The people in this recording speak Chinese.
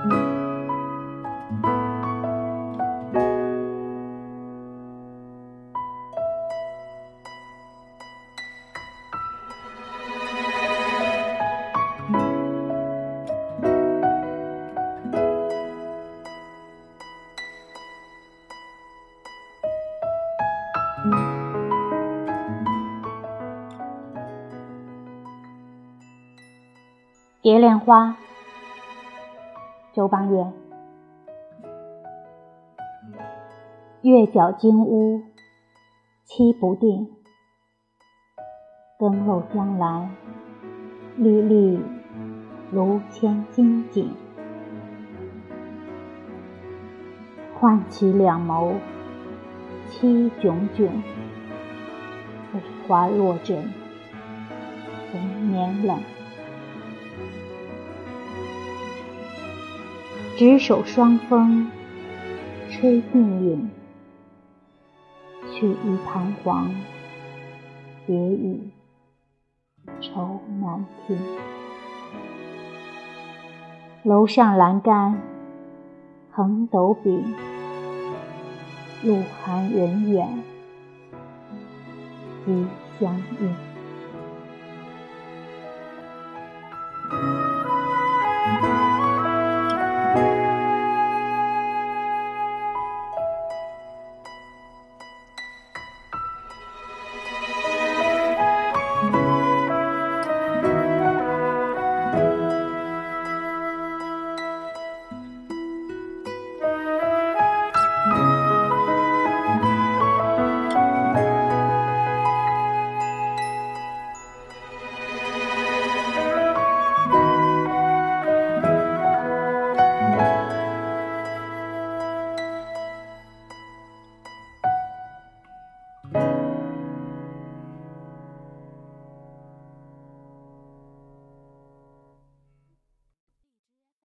蝶恋花，周邦彦。月角金屋，期不定，更漏江来，粒粒如千金锦。唤起两眸，凄炯炯，飞花落枕，红年冷。执手双风，吹鬓影，去意彷徨，别语愁难听。楼上栏杆，横斗柄，路寒人远，即相应。